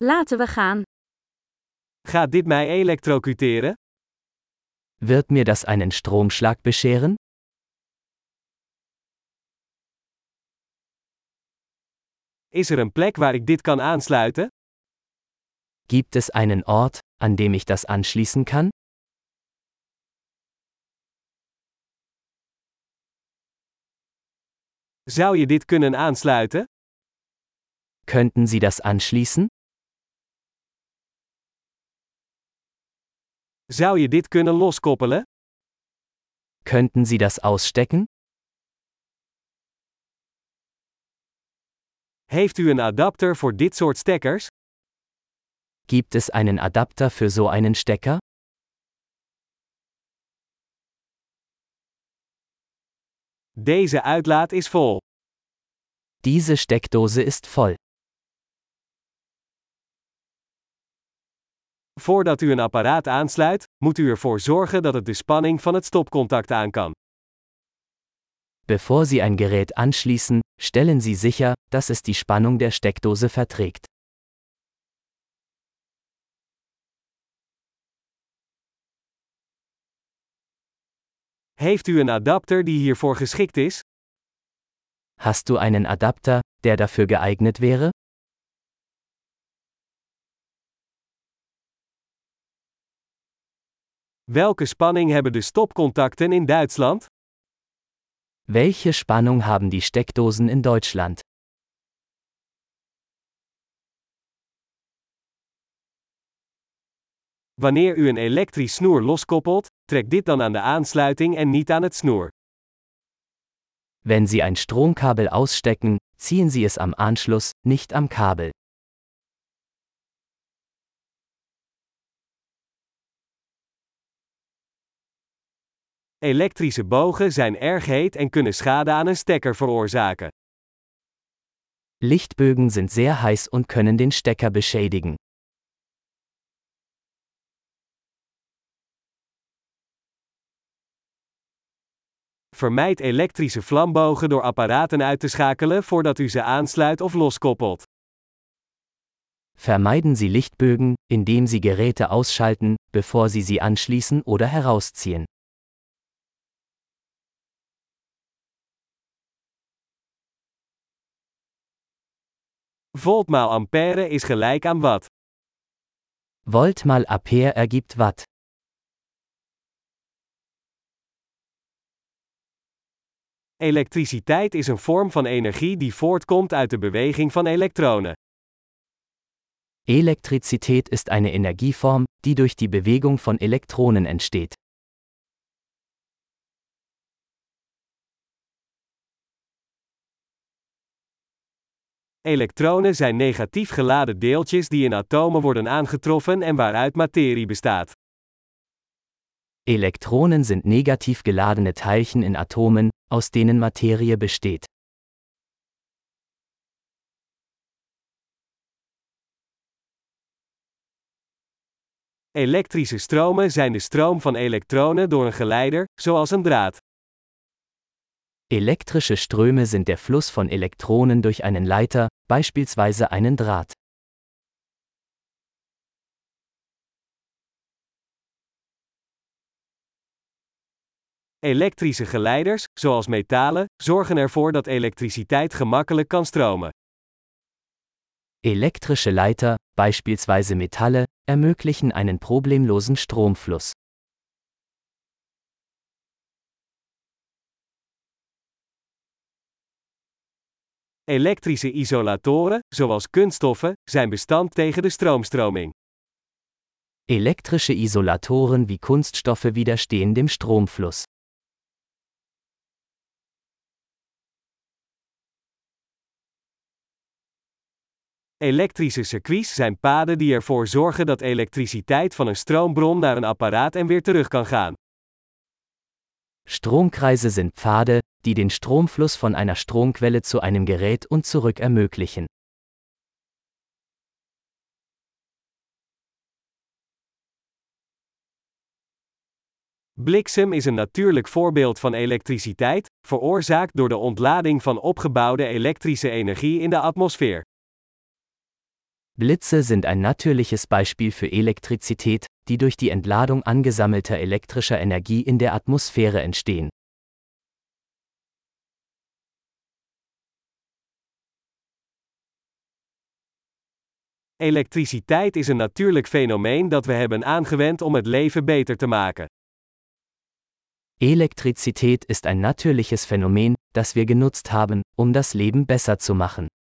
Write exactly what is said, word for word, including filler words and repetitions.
Laten we gaan. Gaat dit mij elektrocuteren? Wird mir das einen Stromschlag bescheren? Is er een plek waar ik dit kan aansluiten? Gibt es einen Ort, an dem ich das anschließen kann? Zou je dit kunnen aansluiten? Könnten Sie das anschließen? Zou je dit kunnen loskoppelen? Könnten Sie das ausstecken? Heeft u een adapter voor dit soort stekkers? Gibt es einen Adapter für so einen Stecker? Deze uitlaat is vol. Diese Steckdose ist voll. Voordat u een apparaat aansluit, moet u ervoor zorgen dat het de spanning van het stopcontact aan kan. Bevor Sie ein Gerät anschließen, stellen Sie sicher, dass es die Spannung der Steckdose verträgt. Heeft u een adapter die hiervoor geschikt is? Hast du einen Adapter, der dafür geeignet wäre? Welke spanning hebben de stopcontacten in Duitsland? Welche Spannung haben die Steckdosen in Deutschland? Wanneer u een elektrisch snoer loskoppelt, trek dit dan aan de aansluiting en niet aan het snoer. Wenn Sie ein Stromkabel ausstecken, ziehen Sie es am Anschluss, nicht am Kabel. Elektrische bogen zijn erg heet en kunnen schade aan een stekker veroorzaken. Lichtbögen sind sehr heiß und können den Stecker beschädigen. Vermijd elektrische vlambogen door apparaten uit te schakelen voordat u ze aansluit of loskoppelt. Vermeiden Sie Lichtbögen, indem Sie Geräte ausschalten, bevor Sie sie anschließen oder herausziehen. Volt maal ampère is gelijk aan watt. Volt mal Ampere ergibt Watt. Elektriciteit is een vorm van energie die voortkomt uit de beweging van elektronen. Elektrizität ist eine Energieform, die durch die Bewegung von Elektronen entsteht. Elektronen zijn negatief geladen deeltjes die in atomen worden aangetroffen en waaruit materie bestaat. Elektronen sind negativ geladene Teilchen in Atomen, aus denen Materie besteht. Elektrische stromen zijn de stroom van elektronen door een geleider, zoals een draad. Elektrische Ströme sind der Fluss von Elektronen durch einen Leiter, beispielsweise einen Draht. Elektrische geleiders, zoals metalen, zorgen ervoor dat elektriciteit gemakkelijk kan stromen. Elektrische Leiter, beispielsweise Metalle, ermöglichen einen problemlosen Stromfluss. Elektrische isolatoren, zoals kunststoffen, zijn bestand tegen de stroomstroming. Elektrische Isolatoren wie Kunststoffe widerstehen dem Stromfluss. Elektrische circuits zijn paden die ervoor zorgen dat elektriciteit van een stroombron naar een apparaat en weer terug kan gaan. Stromkreise sind Pfade, die den Stromfluss von einer Stromquelle zu einem Gerät und zurück ermöglichen. Bliksem is een natuurlijk voorbeeld van elektriciteit, veroorzaakt door de ontlading van opgebouwde elektrische energie in de atmosfeer. Blitze sind ein natürliches Beispiel für Elektrizität, die durch die Entladung angesammelter elektrischer Energie in der Atmosphäre entstehen. Elektriciteit is een natuurlijk fenomeen dat we hebben aangewend om het leven beter te maken. Elektrizität ist ein natürliches Phänomen, das wir genutzt haben, um das Leben besser zu machen.